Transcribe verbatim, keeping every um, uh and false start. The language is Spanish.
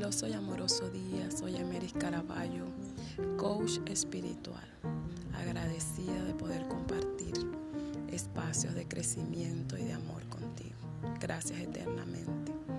Maravilloso y amoroso día, soy Emeris Caraballo, coach espiritual, agradecida de poder compartir espacios de crecimiento y de amor contigo. Gracias eternamente.